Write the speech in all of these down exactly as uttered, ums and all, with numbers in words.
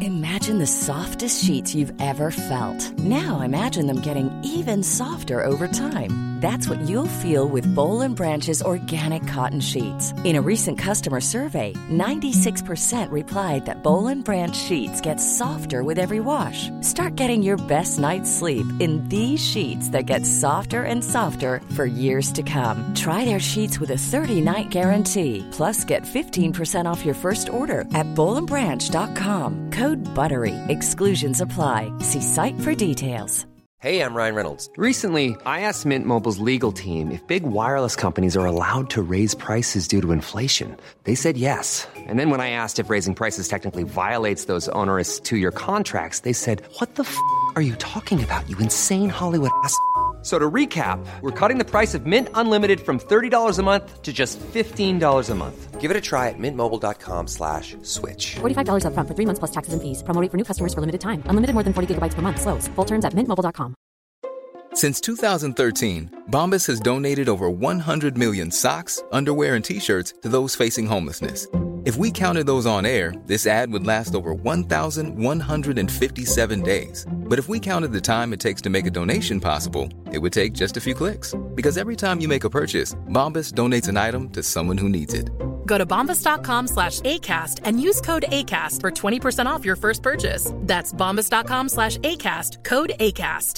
Imagine the softest sheets you've ever felt. Now imagine them getting even softer over time. That's what you'll feel with Boll and Branch's organic cotton sheets. In a recent customer survey, ninety-six percent replied that Boll and Branch sheets get softer with every wash. Start getting your best night's sleep in these sheets that get softer and softer for years to come. Try their sheets with a thirty-night guarantee. Plus, get fifteen percent off your first order at boll and branch dot com. Code BUTTERY. Exclusions apply. See site for details. Hey, I'm Ryan Reynolds. Recently, I asked Mint Mobile's legal team if big wireless companies are allowed to raise prices due to inflation. They said yes. And then when I asked if raising prices technically violates those onerous two-year contracts, they said, "What the f*** are you talking about, you insane Hollywood ass?" So to recap, we're cutting the price of Mint Unlimited from thirty dollars a month to just fifteen dollars a month. Give it a try at mintmobile.com slash switch. forty-five dollars up front for three months plus taxes and fees. Promo rate for new customers for limited time. Unlimited more than forty gigabytes per month. Slows full terms at mint mobile dot com. Since two thousand thirteen, Bombas has donated over one hundred million socks, underwear, and T-shirts to those facing homelessness. If we counted those on air, this ad would last over one thousand one hundred fifty-seven days. But if we counted the time it takes to make a donation possible, it would take just a few clicks. Because every time you make a purchase, Bombas donates an item to someone who needs it. Go to bombas.com slash ACAST and use code ACAST for twenty percent off your first purchase. That's bombas.com slash ACAST, code ACAST.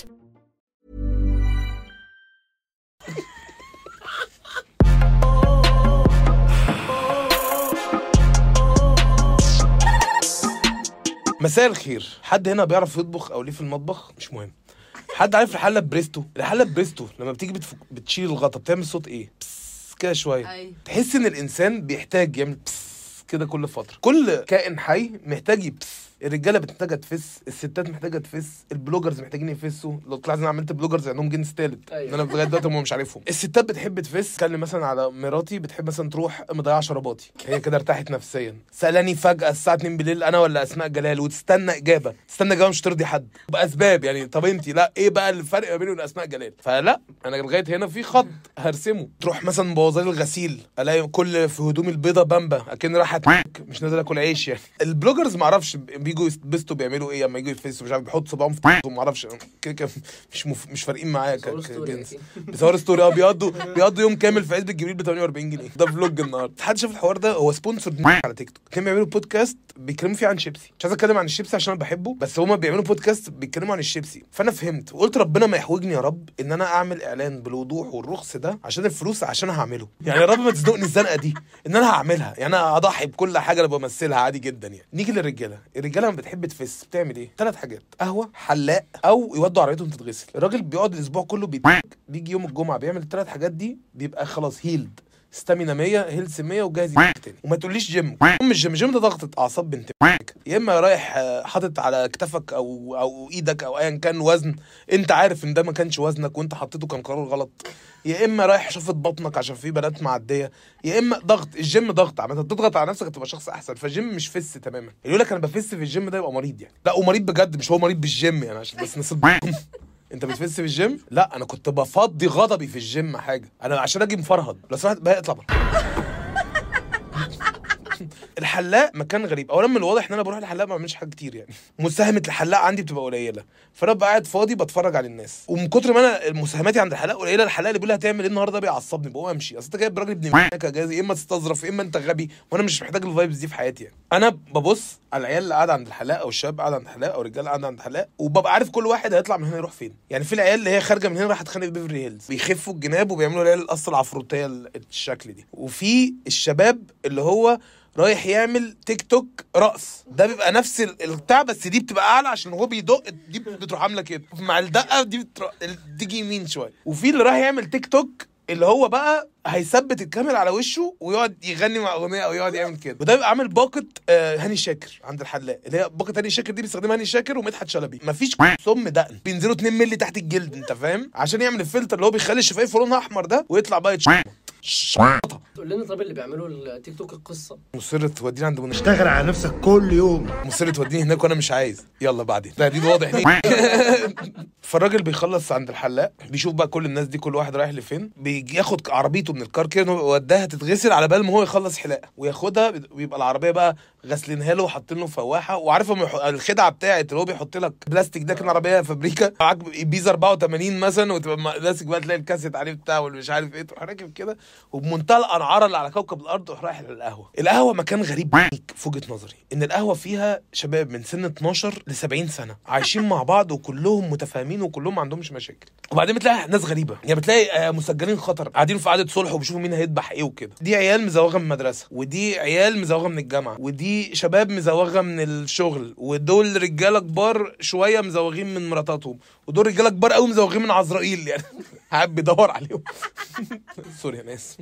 مساء الخير. حد هنا بيعرف يطبخ او ليه في المطبخ؟ مش مهم. حد عارف الحله بريستو؟ الحله بريستو لما بتيجي بتفك... بتشيل الغطا بتعمل صوت ايه؟ بس كده شويه. أي. تحس ان الانسان بيحتاج يعمل بس كده كل فتره. كل كائن حي محتاج يبس. الرجاله بتحتاج تفس، الستات محتاجه تفس، البلوجرز محتاجين يفسوا. لو طلعت انا عملت بلوجرز عندهم جنس ثالث. أيوة. انا لغايه دلوقتي هم مش عارفهم. الستات بتحب تفس. اتكلم مثلا على مراتي بتحب مثلا تروح مضيعه شرباتي، هي كده ارتاحت نفسيا. سالاني فجاه الساعه اتنين بالليل انا ولا اسماء جلال، وتستنى اجابه، تستنى اجابه مش ترضي حد باسباب يعني. طب انت لا ايه بقى الفرق ما بيني وبين اسماء جلال؟ فلا انا لغايه هنا في خط هرسمه. تروح مثلا مبوظه لي الغسيل، الاقي كل في هدومي البيضه بامبا اكن راحت مش نازل اكل عيش يعني. البلوجرز ما اعرفش بيجوا يستبستوا بيعملوا ايه اما يجوا يفسوا، مش عارف بيحطوا صباعهم في ما اعرفش كده مش مف... مش فارقين معايا كجنس. بيصوروا ستوري اه بيقضوا بيقضوا يوم كامل في عزبة جبريل ب ثمانية وأربعين جنيه. ده فلوج النهارده. حد شاف الحوار ده؟ هو سبونسر على تيك توك. كانوا بيعملوا بودكاست بيتكلموا فيه عن شيبسي. مش عايز اتكلم عن الشيبسي عشان انا بحبه، بس هما بيعملوا بودكاست بيتكلموا عن الشيبسي. فانا فهمت وقلت ربنا ما يحوجني يا رب ان انا اعمل اعلان بالوضوح والرخص ده عشان الفلوس، عشان هعمله يعني. يا رب ما تزنقني الزنقه دي ان انا هعملها يعني. انا اضحي بكل حاجه انا بمثلها عادي جدا يعني. نيجي للرجاله. الرجاله لما بتحب تفس بتعمل ايه؟ ثلاث حاجات: قهوه، حلاق، او يودوا عربيتهم تتغسل. الراجل بيقعد الاسبوع كله بيتك. بيجي يوم الجمعه بيعمل الثلاث حاجات دي بيبقى خلاص هيلد، ستامينا مية، هيلث مية، وجاهز تاني. وما تقوليش جيم. ام الجيم الجيم ده ضغطة اعصاب بنت. يا اما رايح حاطط على كتفك او او ايدك او ايا كان وزن انت عارف ان ده ما كانش وزنك وانت حطيته كان قرار غلط. يا اما رايح شفت بطنك عشان في بنات معديه. يا اما ضغط. الجيم ضغط عامه، تضغط على نفسك تبقى شخص احسن. فالجيم مش فس تماما. اللي يقول لك انا بفس في الجيم ده يبقى مريض يعني. لا ومريض بجد، مش هو مريض بالجيم يعني عشان بس نصب. انت بتفس في الجيم؟ لا انا كنت بفضي غضبي في الجيم حاجه انا عشان اجي مفرهد. لو سمحت بقى اطلع بره. الحلاق مكان غريب. اولا من الواضح ان انا بروح الحلاق ما بعملش حاجه كتير يعني. مساهمه الحلاق عندي بتبقى قليله، فانا ببقى قاعد فاضي بتفرج على الناس. ومن كتر ما انا مساهماتي عند الحلاق قليله، الحلاق اللي بيقول لي هتعمل ايه النهارده بيعصبني، بقوم امشي. اصل انت جايب راجل ابن مكه جاهز، يا اما تستظرف يا اما انت غبي، وانا مش محتاج الفايبز دي في حياتي يعني. انا ببص على العيال اللي قاعده عند الحلاق او الشباب قاعده عند الحلاق او الرجاله قاعده عند الحلاق، وببقى عارف كل واحد هيطلع من هنا يروح فين يعني. في العيال اللي هي خارجه من هنا راح تخانق بيفرلي هيلز بيخفوا الجناب وبيعملوا العيال القصه العفروتيه الشكل دي. وفي الشباب اللي هو رايح يعمل تيك توك رقص، ده بيبقى نفس البتاع بس دي بتبقى اعلى عشان هو بيدق، دي بتروح عامله كده مع الدقه دي بتروح تيجي يمين شويه. وفي اللي رايح يعمل تيك توك اللي هو بقى هيثبت الكاميرا على وشه ويقعد يغني مع اغنيه او يقعد يعمل كده. وده بيبقى عامل باقه آه هاني شاكر عند الحلاق، اللي هي باقه هاني شاكر دي بيستخدمها هاني شاكر ومدحت شلبي. مفيش سم دقن، بينزلوا اتنين مللي تحت الجلد انت فاهم، عشان يعمل الفلتر اللي هو بيخلي الشفايف لونها احمر ده ويطلع بقى يتشمط. تقول لنا طب اللي بيعملوا التيك توك القصه مصر توديني عند منى، اشتغل على نفسك كل يوم. مصر توديني هناك وانا مش عايز. يلا بعدين تهديد واضح ليه. فالراجل بيخلص عند الحلاق بيشوف بقى كل الناس دي كل واحد رايح لفين، بيجي ياخد عربيته من الكار كده ويوديها تتغسل على بال ما هو يخلص حلاقه وياخدها. بيبقى العربيه بقى غسلينها له وحاطين له فواحه، وعارف الخدعه بتاعت اللي هو بيحط لك بلاستيك ده كان عربيه فابريكا معاك بيزا أربعة وثمانين مثلا، وتبقى ماسك بقى تلاقي الكاسيت عليه بتاع والمش عارف ايه، تروح راكب كده وبمنتهى الانعاره اللي على كوكب الارض تروح رايح للقهوه. القهوه مكان غريب في وجهه نظري، ان القهوه فيها شباب من سن اتناشر ل سبعين سنه عايشين مع بعض وكلهم متفاهمين وكلهم ما عندهمش مشاكل. وبعدين بتلاقي ناس غريبه، يعني بتلاقي مسجلين خطر قاعدين في قعده صلح وبيشوفوا مين هيذبح ايه وكده. دي عيال مزوغه من المدرسه، ودي عيال مزوغه من الجامعه، ودي شباب مزوغه من الشغل، ودول رجاله كبار شويه مزوغين من مراتاتهم، ودول رجاله كبار قوي مزوغين من عزرائيل، يعني قاعد بيدور عليهم. سوري يا ناس.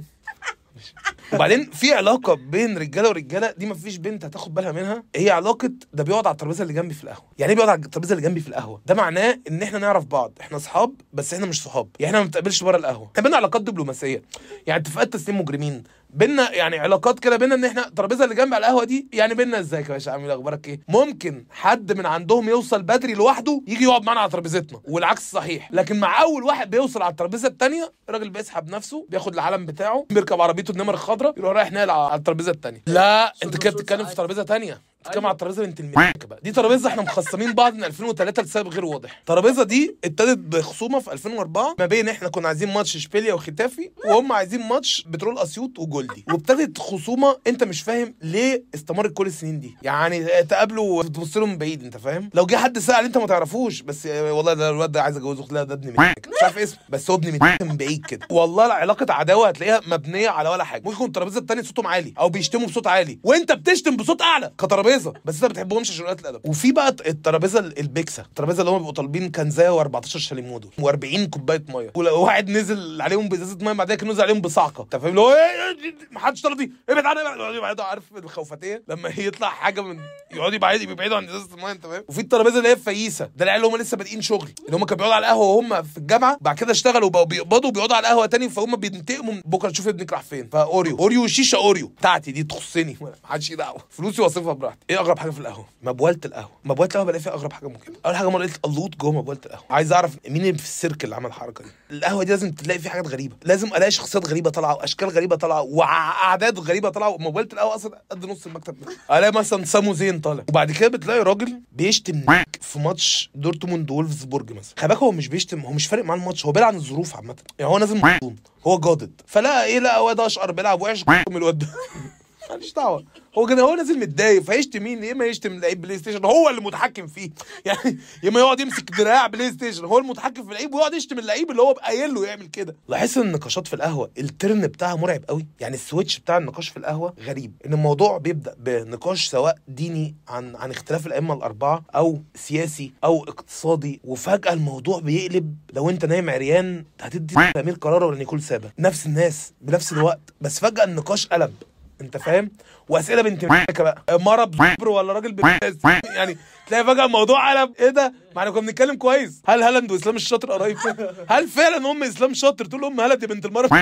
وبعدين في علاقه بين رجاله ورجاله دي مفيش بنت هتاخد بالها منها، هي علاقه ده بيقعد على الترابيزه اللي جنبي في القهوه. يعني ايه بيقعد على الترابيزه اللي جنبي في القهوه؟ ده معناه ان احنا نعرف بعض، احنا اصحاب بس احنا مش صحاب، يعني احنا ما بنتقابلش بره القهوه، احنا بينا علاقات دبلوماسيه، يعني اتفاقات تسليم مجرمين بينا، يعني علاقات كده بينا ان احنا الترابيزه اللي جنب على القهوه دي يعني بينا ازيك يا باشا عامل اخبارك ايه. ممكن حد من عندهم يوصل بدري لوحده يجي يقعد معانا على ترابيزتنا والعكس صحيح، لكن مع اول واحد بيوصل على الترابيزه الثانيه الراجل بيسحب نفسه، بياخد العلم بتاعه، بيركب عربيته النمر الخضراء، يروح رايح ناقل على الترابيزه الثانيه. لا انت كده بتتكلم في ترابيزه ثانيه، بتتكلم على الترابيزه بنت الملك بقى. دي ترابيزه احنا مخصمين بعض من ألفين وثلاثة لسبب غير واضح. الترابيزه دي ابتدت بخصومه في ألفين وأربعة ما بين احنا كنا عايزين ماتش اشبيليا وختافي، وهم عايزين ماتش بترول اسيوط وجولدي، وابتدت خصومه انت مش فاهم ليه استمرت كل السنين دي، يعني تقابلوا وتبص له من بعيد، انت فاهم؟ لو جه حد سأل انت ما تعرفوش، بس والله ده الواد ده عايز اتجوزه، لا ده ابن ملك مش عارف اسمه، بس هو ابن ملك من بعيد كده. والله علاقه عداوه هتلاقيها مبنيه على ولا حاجه. ممكن يكون الترابيزه الثانيه صوتهم عالي او بيشتموا بصوت عالي وانت بتشتم بصوت اعلى كترابيزه، بس انت بتحبهمش عشان قله الادب. وفي بقى الترابيزه البيكسا، الترابيزه اللي هم بيبقوا طالبين كنزايه و14 شاليمو دول و40 كوبايه ميه، ولو واحد نزل عليهم بازازه ميه بعدها كان نزل عليهم بصعقه، انت فاهم؟ اللي هو ما حدش طلب دي ابعد عنها، يقعدوا عارف الخوفتيه لما يطلع حاجه من يقعدوا يبعدوا يبعدوا عن ازازه الميه، انت فاهم؟ وفي الترابيزه اللي هي فييسه، ده العيال اللي هم لسه بادئين شغل، اللي هم كانوا بيقعدوا على القهوه وهم في الجامعه، بعد كده اشتغلوا وبقوا بيقبضوا وبيقعدوا على القهوه تاني، فهم بينتقموا بكره تشوف ابنك راح فين. فاوريو اوريو شيشه اوريو بتاعتي دي تخصني، ما حدش دعوه، فلوسي واصرفها براحتي. ايه اغرب حاجه في القهوه؟ مبواله القهوه. مبواله القهوه بلاقي فيها اغرب حاجه ممكن. اول حاجه مره لقيت اللوط جوه مبواله القهوه، عايز اعرف مين اللي في السيركل اللي عمل الحركه دي. القهوه دي لازم تلاقي فيها حاجات غريبه، لازم الاقي شخصيات غريبه طالعه واشكال غريبه طالعه واعداد غريبه طالعه. مبواله القهوه اصلا قد نص المكتب ده، الاقي مثلا سامو زين طالع، وبعد كده بتلاقي راجل بيشتم في ماتش دورتموند وولفسبورج مثلا. خلي بالك هو مش بيشتم، هو مش فارق معاه الماتش، هو بيلعب عن الظروف عامه، يعني هو نازل مظلوم، هو جادد، فلا ايه لا هو ده اشقر بيلعب وحش من الواد ده ماليش دعوه، هو كده هو نازل متضايق، فيشتم مين؟ يا اما يشتم لعيب بلاي ستيشن هو اللي متحكم فيه، يعني يا اما يقعد يمسك دراع بلاي ستيشن هو المتحكم في اللعيب ويقعد يشتم اللعيب اللي هو قايل له يعمل كده. لاحظت ان النقاشات في القهوه الترن بتاعها مرعب قوي، يعني السويتش بتاع النقاش في القهوه غريب، ان الموضوع بيبدا بنقاش سواء ديني عن عن اختلاف الائمه الاربعه او سياسي او اقتصادي، وفجاه الموضوع بيقلب لو انت نايم عريان هتدي تأمير قرار ولا نيكول سابا، نفس الناس بنفس الوقت، بس فجاه النقاش قلب، انت فاهم؟ واسئله بنت مكه بقى، مره بصبر ولا راجل بس، يعني تلاقي فجاه الموضوع قلب. ايه ده؟ ما احنا كنا بنتكلم كويس، هل هالاند واسلام الشاطر قريب؟ هل فعلا ام اسلام شاطر تقول ام هالاند يا بنت المره؟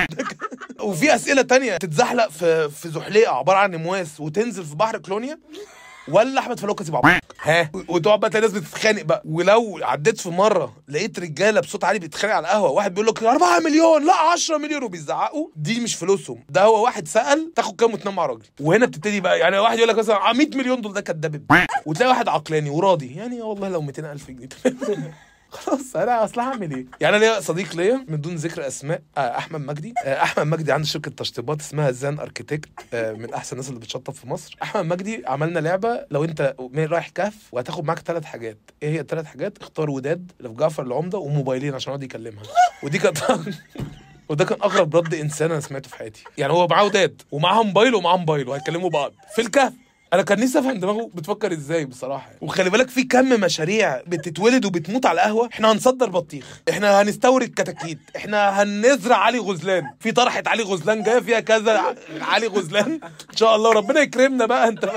وفي اسئله تانية تتزحلق في في زحليقه عباره عن نمواس وتنزل في بحر كلونيا، ولا احمد فلوكه سيب عبط ها، وتقعد بقى تلاقي ناس بتتخانق بقى. ولو عديت في مره لقيت رجاله بصوت عالي بيتخانق على القهوه، واحد بيقول لك أربعة مليون لا عشرة مليون وبيزعقوا، دي مش فلوسهم، ده هو واحد سأل تاخد كام وتنام مع راجل. وهنا بتبتدي بقى، يعني واحد يقول لك مثلا مية مليون دول ده كداب، وتلاقي واحد عقلاني وراضي، يعني والله لو مئتين ألف جنيه خلاص انا اصل هعمل ايه. يعني انا ليا صديق ليا من دون ذكر اسماء، آه احمد مجدي. آه احمد مجدي عنده شركه تشطيبات اسمها زان اركيتكت، آه من احسن الناس اللي بتشطب في مصر. احمد مجدي عملنا لعبه، لو انت رايح كهف وهتاخد معاك ثلاث حاجات، ايه هي الثلاث حاجات؟ اختار وداد اللي في جعفر العمده وموبايلين عشان يقعد يكلمها. ودي كانت وده كان اغرب رد انسان انا سمعته في حياتي، يعني هو معاه وداد ومعاه موبايل ومعاه موبايل وهيكلموا بعض في الكهف. انا كان نفسي افهم دماغه بتفكر ازاي بصراحه. وخلي بالك في كم مشاريع بتتولد وبتموت على القهوه. احنا هنصدر بطيخ، احنا هنستورد كتاكيت، احنا هنزرع علي غزلان، في طرحه علي غزلان جايه فيها كذا علي غزلان ان شاء الله وربنا يكرمنا بقى، انت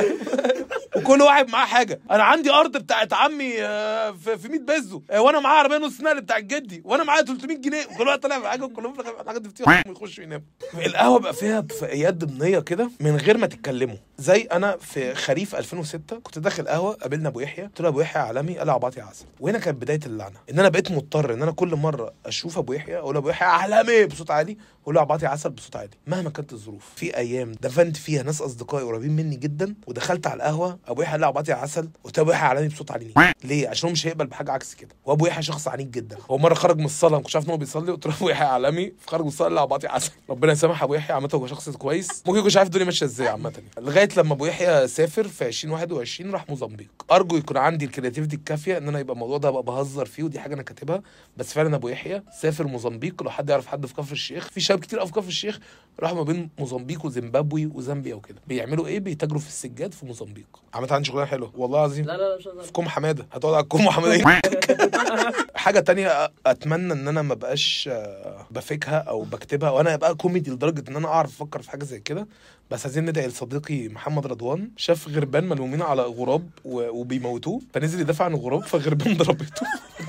وكل واحد معاه حاجه. انا عندي ارض بتاعت عمي في مية بيزو، وانا معايا عربيه نص نقل بتاعت جدي، وانا معايا ثلاثمية جنيه، وكل واحد طالع معايا كلهم في الحاجات دي بتيجي يخشوا يناموا. القهوه بقى فيها اتفاقيات ضمنيه كده من غير ما تتكلموا، زي انا في خريف ألفين وستة كنت داخل قهوه، قابلنا ابو يحيى، قلت له ابو يحيى عالمي، قال عباطي عسل. وهنا كانت بدايه اللعنه، ان انا بقيت مضطر ان انا كل مره اشوف ابو يحيى اقول ابو يحيى عالمي بصوت عالي، اقول له عباطي عسل بصوت عالي مهما كانت الظروف. في ايام دفنت فيها ناس اصدقائي قريبين مني جدا، ودخلت على القهوه ابو يحيى قال عباطي عسل، قلت له ابو يحيى عالمي بصوت عالي ليه؟ عشان هو مش هيقبل بحاجه عكس كده. وابو يحيى شخص عنيد جدا. هو مره خرج من الصلاه ما كنتش عارف ان هو بيصلي، قلت له ابو يحيى عالمي، خرج من الصلاه قال عباطي عسل. ربنا يسامح ابو يحيى، عامه هو شخص كويس، ممكن يكونش عارف الدنيا ماشيه ازاي عامه. لغايه لما ابو يحيى سافر في ألفين وواحد وعشرين راح موزمبيق. ارجو يكون عندي الكرياتيفيتي الكافيه ان انا يبقى الموضوع ده ابقى بهزر فيه، ودي حاجه انا كاتبها، بس فعلا ابو يحيى سافر موزمبيق. لو حد يعرف حد في كفر الشيخ، في شباب كتير قوي في كفر الشيخ راحوا ما بين موزمبيق وزيمبابوي وزامبيا وكده. بيعملوا ايه؟ بيتاجروا في السجاد في موزمبيق. عملت عندي شغلانه حلوه والله العظيم. لا لا لا في كوم حماده، هتقعد على الكوم حماده. حاجه تانية اتمنى ان انا ما بقاش بفكها او بكتبها وانا ابقى كوميدي لدرجه ان انا اعرف افكر في حاجه زي كده. بس عايزين ندعي لصديقي محمد رضوان، شاف غربان ملمومين على غراب وبيموتوه، فنزل يدافع عن الغراب، فغربان ضربته.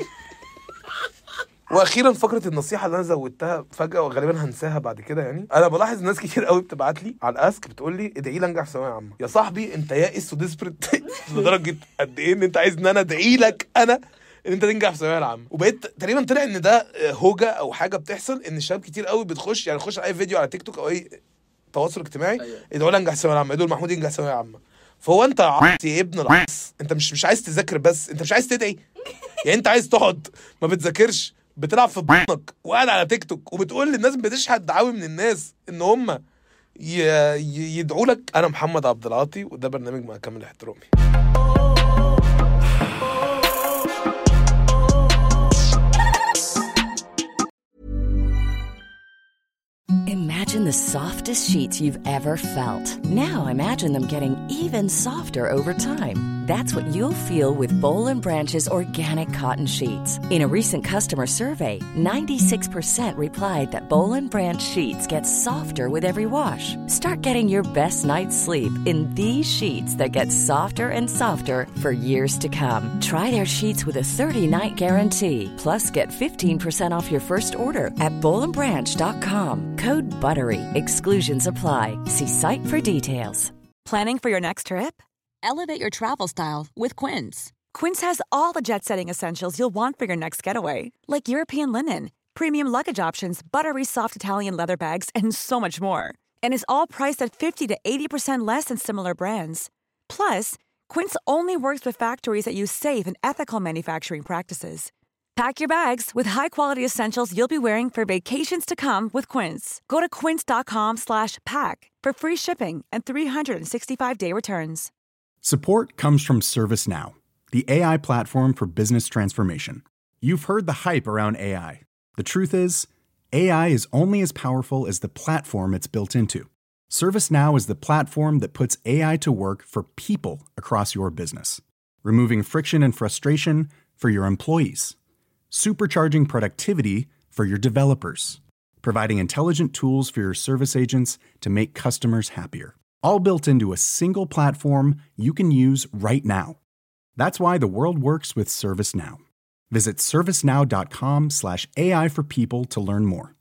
واخيرا فقره النصيحه اللي انا زودتها فجاه وغالبا هنساها بعد كده. يعني انا بلاحظ ناس كتير قوي بتبعت لي على الاسك بتقول لي ادعي لي انجح في ثانويه عامه. يا صاحبي انت يائس وديسبريت لدرجه قد ايه ان انت عايز ان انا ادعي لك انا ان انت تنجح في الثانويه العامه. وبقيت تقريبا طلع ان ده هوجه او حاجه بتحصل، ان الشباب كتير قوي بتخش يعني تخش على اي فيديو على تيك توك او اي تواصل اجتماعي ادعوا لي انجح في الثانويه العامه، ادعوا محمود ينجح في الثانويه العامه. فهو انت عبط يا ابن العص، انت مش مش عايز تذاكر، بس انت مش عايز تدعي. يعني انت عايز تقعد ما بتذاكرش، بتلعب في بطنك وقاعد على تيك توك وبتقول للناس بتشحت دعاوي من الناس ان هم يدعوا لك. انا محمد عبد العاطي وده برنامج مع كامل احترامي. Imagine the softest sheets you've ever felt. Now imagine them getting even softer over time. That's what you'll feel with Boll and Branch's organic cotton sheets. In a recent customer survey, ninety-six percent replied that Boll and Branch sheets get softer with every wash. Start getting your best night's sleep in these sheets that get softer and softer for years to come. Try their sheets with a thirty-night guarantee. Plus, get fifteen percent off your first order at boll and branch dot com. Code BUTTERY. Exclusions apply. See site for details. Planning for your next trip? Elevate your travel style with Quince. Quince has all the jet-setting essentials you'll want for your next getaway, like European linen, premium luggage options, buttery soft Italian leather bags, and so much more. And is all priced at fifty to eighty percent less than similar brands. Plus, Quince only works with factories that use safe and ethical manufacturing practices. Pack your bags with high-quality essentials you'll be wearing for vacations to come with Quince. Go to quince.com slash pack for free shipping and three sixty-five day returns. Support comes from ServiceNow, the A I platform for business transformation. You've heard the hype around A I. The truth is, A I is only as powerful as the platform it's built into. ServiceNow is the platform that puts A I to work for people across your business, removing friction and frustration for your employees, supercharging productivity for your developers, providing intelligent tools for your service agents to make customers happier. All built into a single platform you can use right now. That's why the world works with ServiceNow. Visit servicenow.com slash AI for people to learn more.